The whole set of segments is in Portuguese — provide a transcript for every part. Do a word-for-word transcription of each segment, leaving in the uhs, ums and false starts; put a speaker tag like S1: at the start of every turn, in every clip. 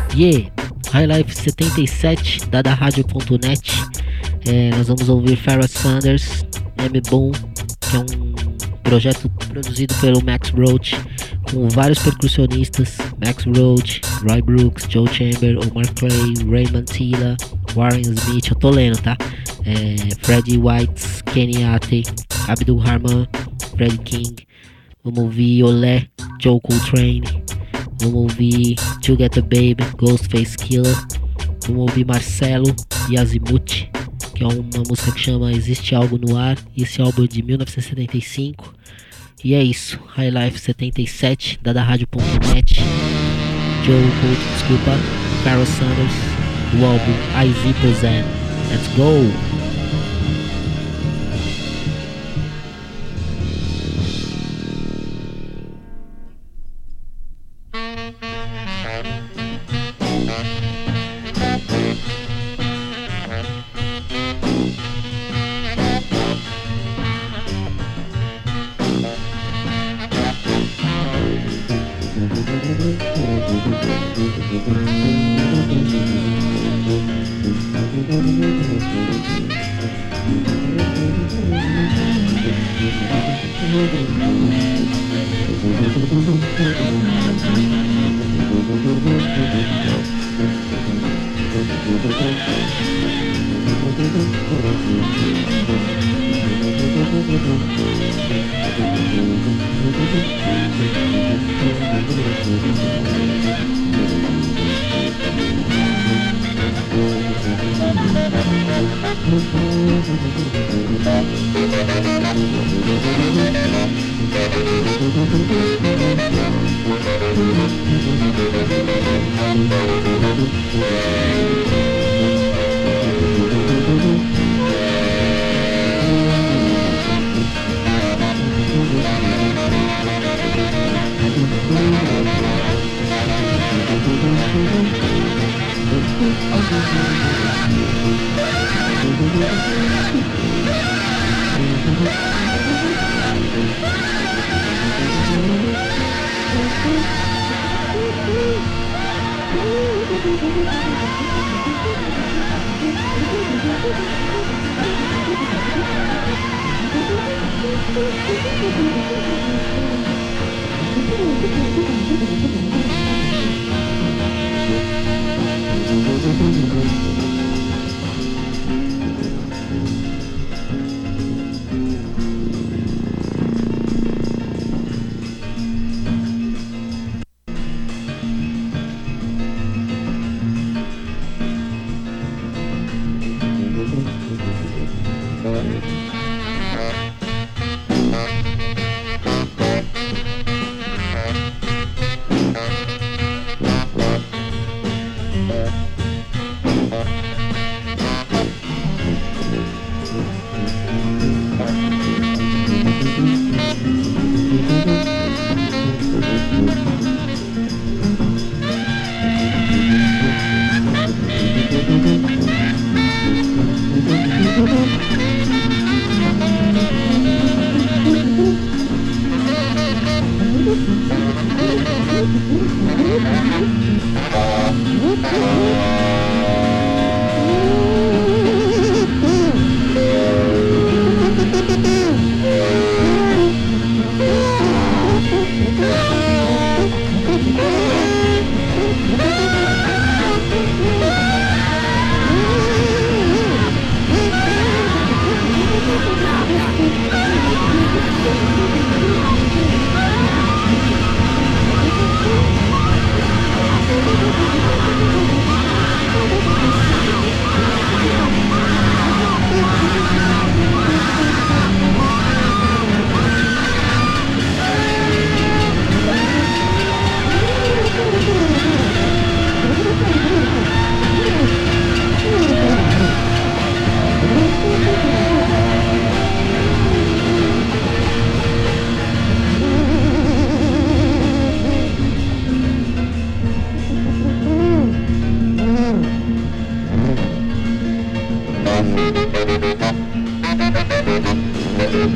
S1: Yeah, High Life setenta e sete da da rádio ponto net. É, nós vamos ouvir Pharoah Sanders, M-Boom, que é um projeto produzido pelo Max Roach, com vários percussionistas: Max Roach, Roy Brooks, Joe Chamber, Omar Clay, Ray Mantilla, Warren Smith, eu tô lendo, tá? É, Freddie White, Kenny Ate, Abdul Rahman, Fred King. Vamos ouvir Olé, Joe Coltrane. Vamos ouvir To Get the Baby, Ghostface Killer. Vamos ouvir Marcelo e Azimuth, que é uma música que chama Existe Algo no Ar. E esse álbum é de mil novecentos e setenta e cinco. E é isso, High Life setenta e sete da da rádio ponto net. Joe Colt, desculpa, Pharoah Sanders, do álbum I Z Posen. Let's go!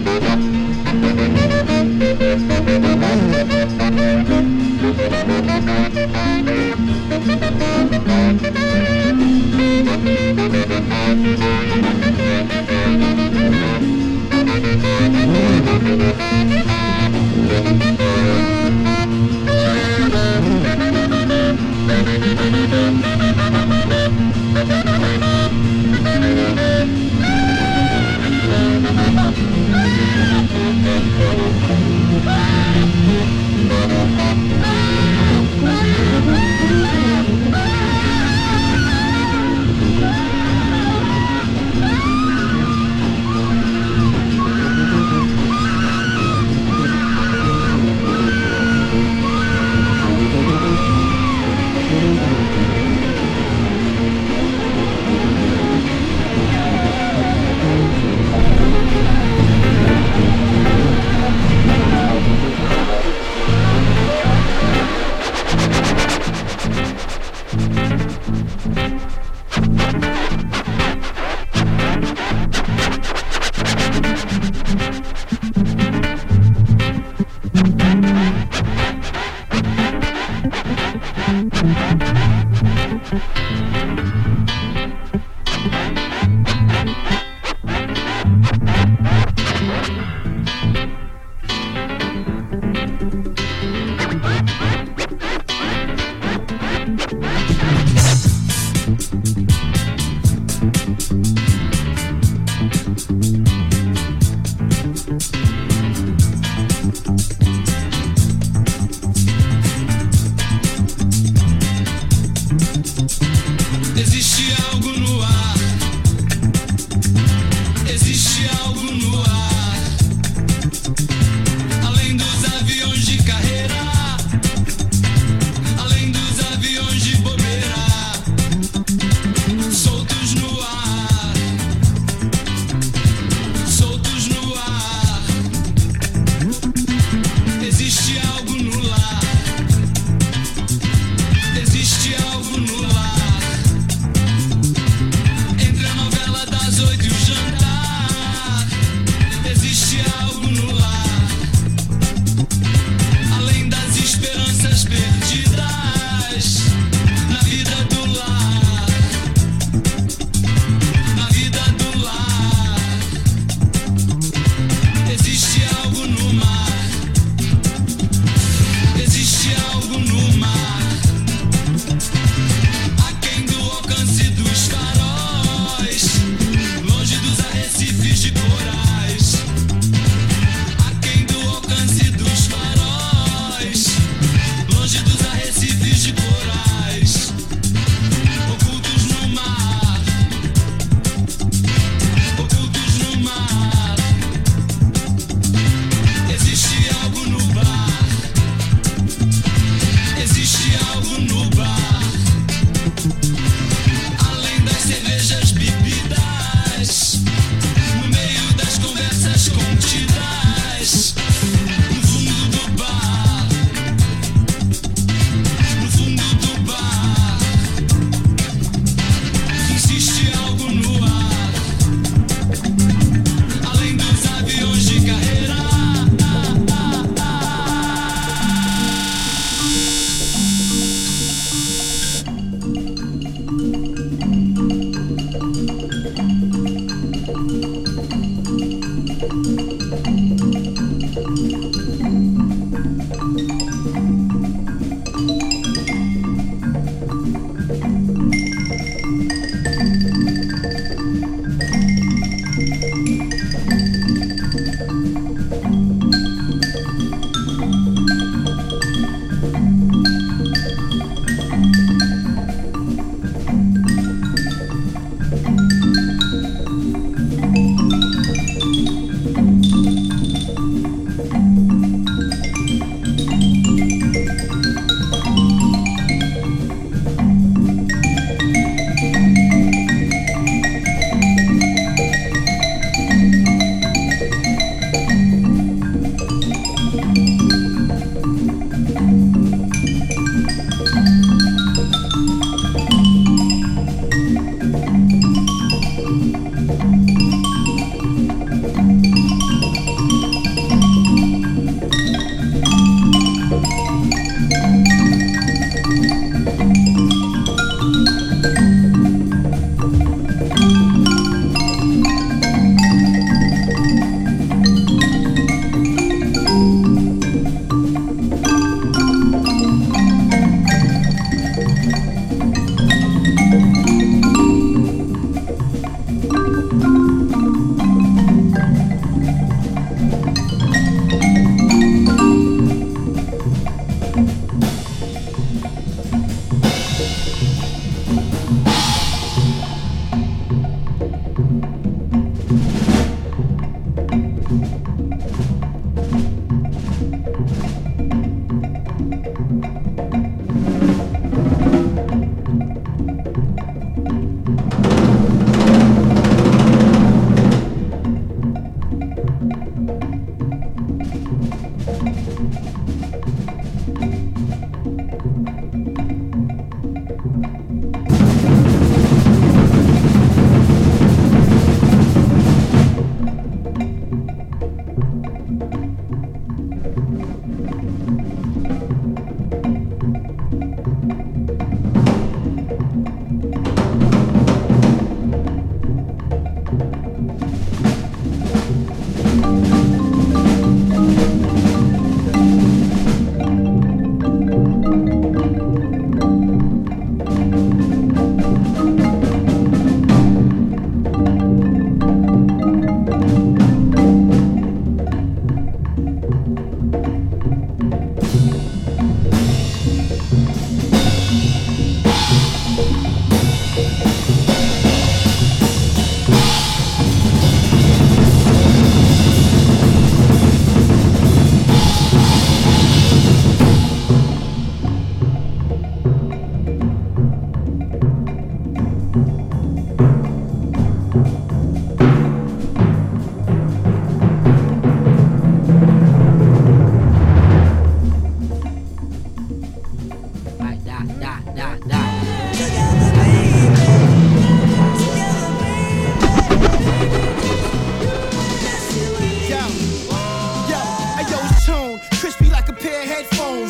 S2: Thank you.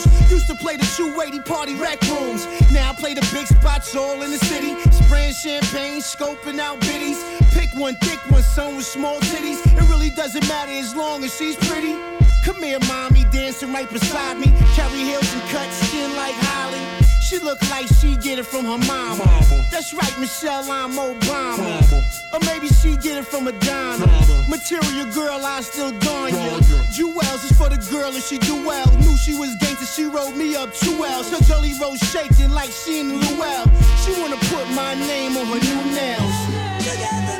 S2: rooms. Used to play the two eighty party rec rooms. Now I play the big spots all in the city. Spraying champagne, scoping out biddies. Pick one thick one, some with small titties. It really doesn't matter as long as she's pretty. Come here, mommy, dancing right beside me. Carry heels and cut skin like Holly. She look like she get it from her mama. mama. That's right, Michelle, I'm Obama. Mama. Or maybe she get it from Madonna. Mama. Material girl, I still don ya. Jewels is for the girl and she do well. Knew she was gangster, she rolled me up two L's. Her jelly roll shaking like she in Luell. She wanna put my name on her new nails. Together,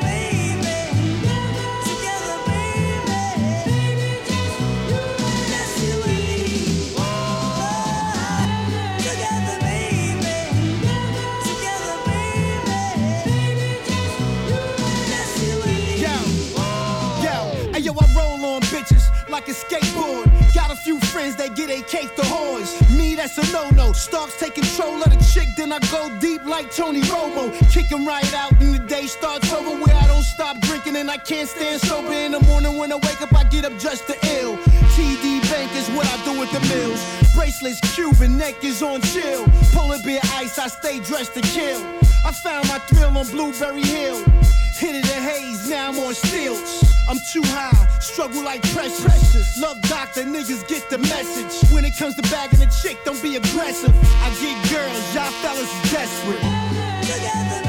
S2: like a skateboard. Got a few friends that get a cake to whores. Me, that's a no-no. Starks take control of the chick, then I go deep like Tony Romo. Kick him right out and the day starts over where I don't stop drinking and I can't stand sober. In the morning when I wake up, I get up just to ill. T D Bank is what I do with the mills. Bracelets, Cuban, neck is on chill. Polar bear ice, I stay dressed to kill. I found my thrill on Blueberry Hill. Hit it in haze, now I'm on stilts. I'm too high, struggle like precious. Love doctor, niggas get the message. When it comes to bagging a chick, don't be aggressive. I get girls, y'all fellas is desperate. Together.